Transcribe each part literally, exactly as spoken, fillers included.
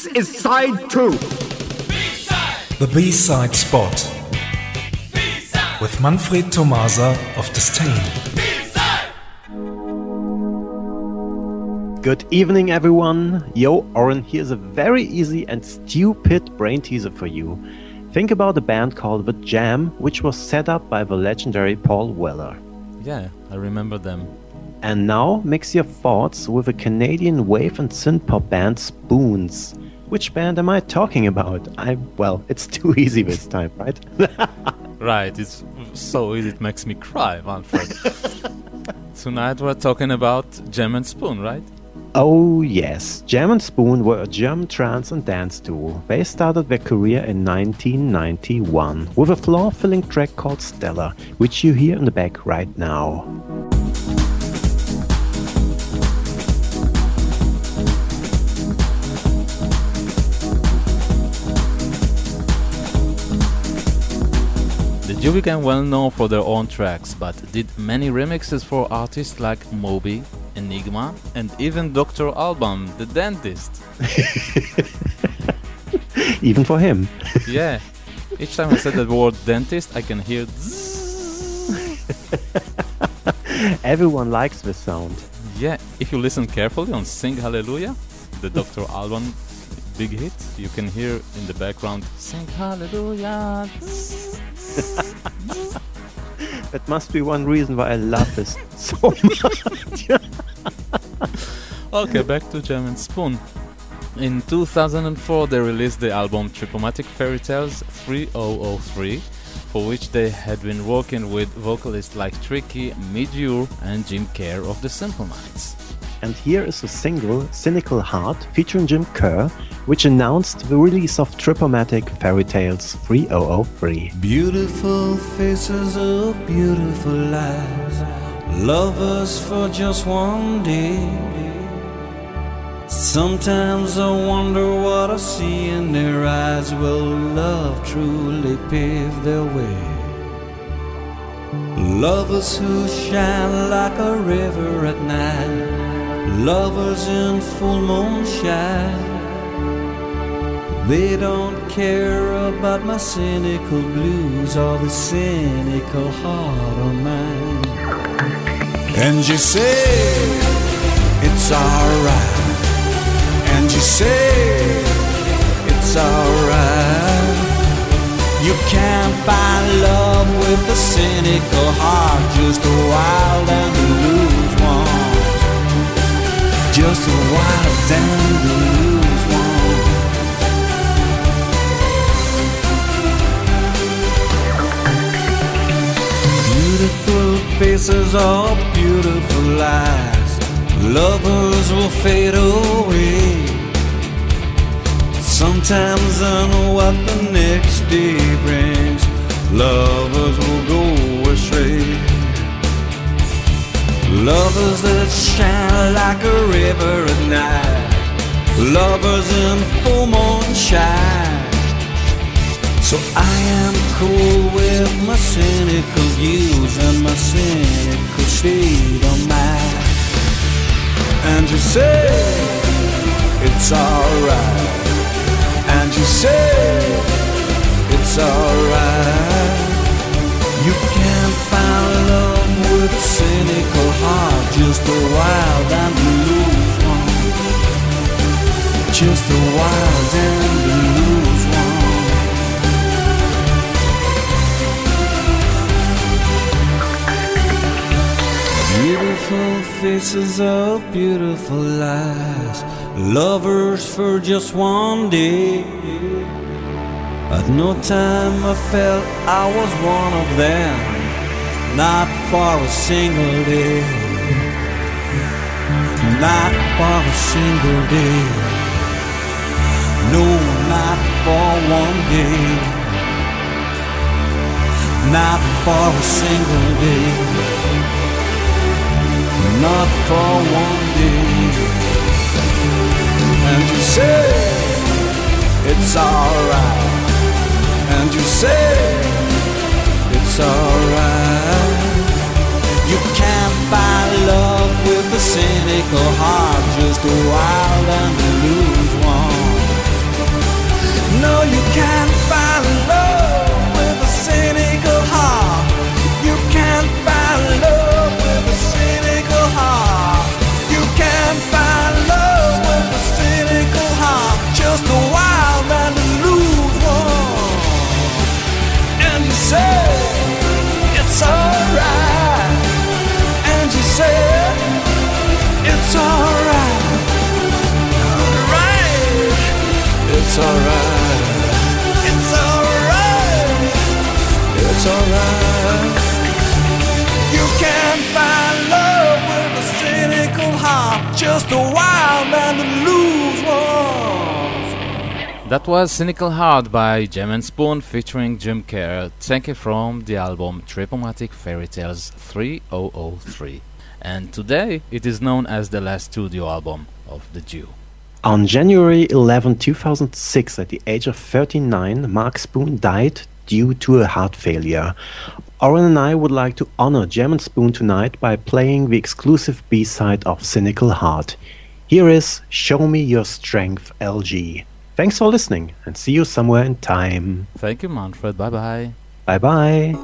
This is side two. B-side. The B-side spot. B-side. With Manfred Tomasa of Disdain. Good evening, everyone. Yo, Oren, here's a very easy and stupid brain teaser for you. Think about a band called The Jam, which was set up by the legendary Paul Weller. Yeah, I remember them. And now mix your thoughts with a Canadian wave and synth-pop band Spoons. Which band am I talking about? I well, it's too easy this time, right? Right, it's so easy it makes me cry, Manfred. Tonight we're talking about Jam and Spoon, right? Oh yes, Jam and Spoon were a German trance and dance duo. They started their career in nineteen ninety-one with a floor-filling track called Stella, which you hear in the back right now. The duo became well known for their own tracks, but did many remixes for artists like Moby, Enigma, and even Doctor Alban, the dentist. Even for him. Yeah. Each time I said the word dentist, I can hear Everyone likes this sound. Yeah, if you listen carefully on Sing Hallelujah, the Doctor Alban big hit, you can hear in the background Sing Hallelujah. That must be one reason why I love this so much. Okay, back to Jam and Spoon. In two thousand four, they released the album Tripomatic Fairy Tales three thousand three, for which they had been working with vocalists like Tricky, Midure, and Jim Kerr of the Simple Minds. And here is a single, Cynical Heart, featuring Jim Kerr, which announced the release of Tripomatic Fairy Tales three thousand three. Beautiful faces of beautiful lives, lovers for just one day. Sometimes I wonder what I see in their eyes. Will love truly pave their way? Lovers who shine like a river at night, lovers in full moonshine. They don't care about my cynical blues or the cynical heart of mine. And you say it's alright, and you say it's alright. You can't buy love with a cynical heart, just a wild and loose one. Just a wild and loose one. Beautiful faces or beautiful lies, lovers will fade away. Sometimes I know what the next day brings, lovers will go astray. Lovers that shine like a river at night, lovers in full moonshine. So I am cool with my cynical views and my cynical state of mind. And you say it's alright, and you say it's alright. You can't find love with a cynical heart, just a wild and loose one. Just a wild and loose one. Beautiful faces of beautiful lies, lovers for just one day. At no time I felt I was one of them, not for a single day. Not for a single day. No, not for one day. Not for a single day. Not for one day. And you say it's alright, and you say it's alright. You can't buy love with a cynical heart, just a wild and loose one. just a wild man to lose one. And you said it's alright. And you said it's alright. Alright. It's alright. It's alright. It's alright. You can't find love with a cynical heart. Just a wild man to lose one. That was Cynical Heart by Jam and Spoon featuring Jim Kerr, taken from the album Tripomatic Fairy Tales three thousand three. And today it is known as the last studio album of the Jew. On January eleventh, two thousand six, at the age of thirty-nine, Mark Spoon died due to a heart failure. Oren and I would like to honor Jam and Spoon tonight by playing the exclusive B-side of Cynical Heart. Here is Show Me Your Strength, L G. Thanks for listening and see you somewhere in time. Thank you, Manfred. Bye-bye. Bye-bye.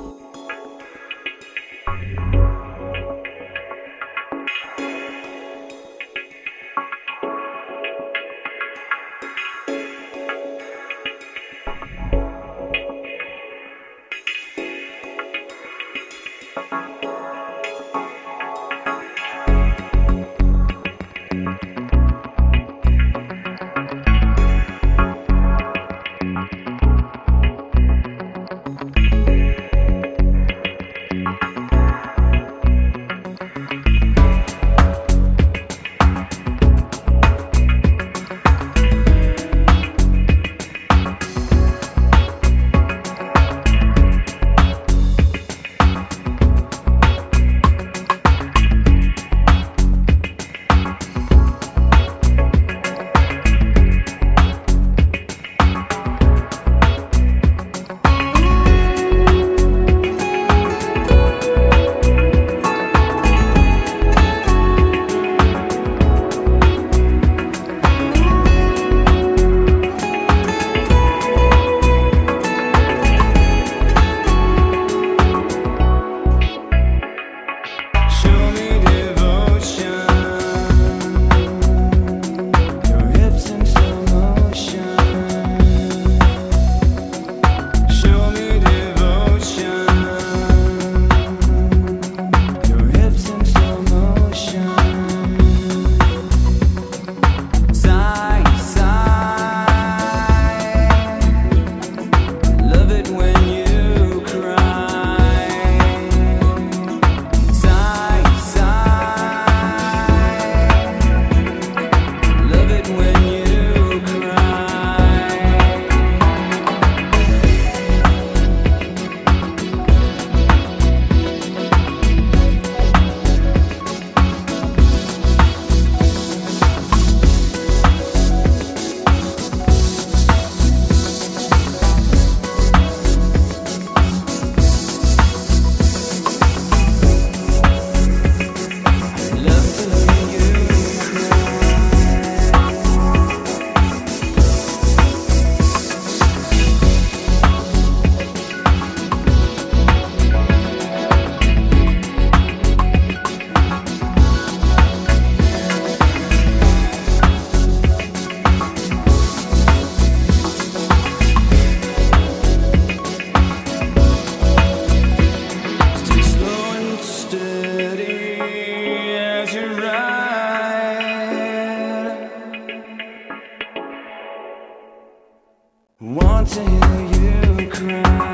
Want to hear you cry.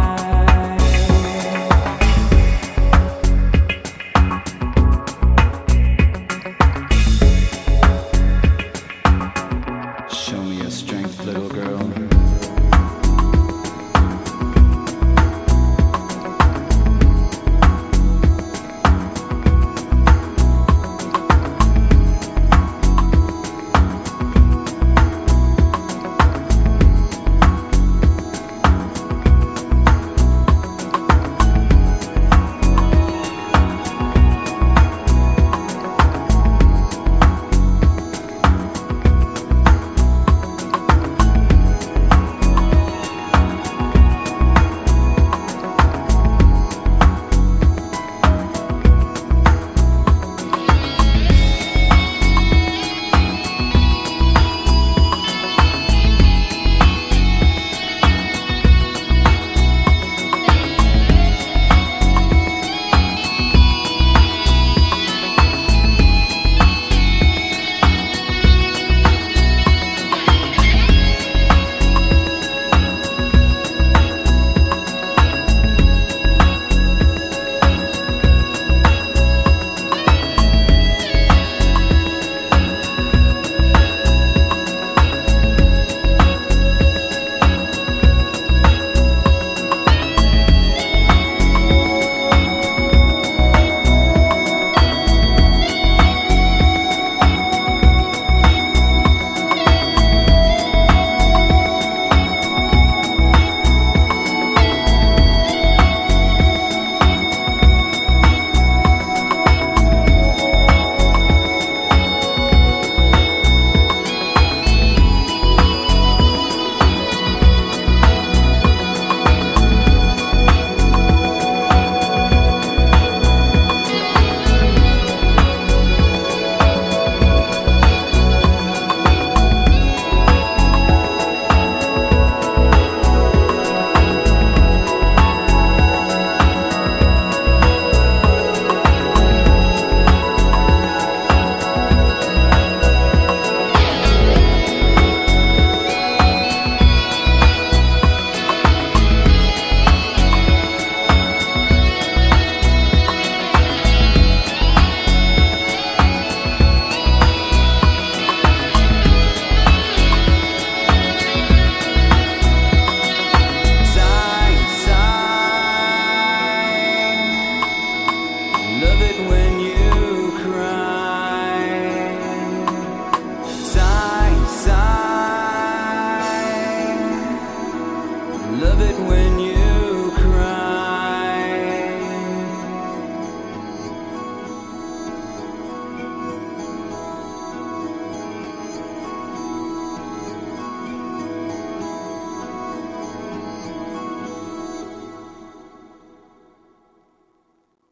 Show me your strength, little girl. when you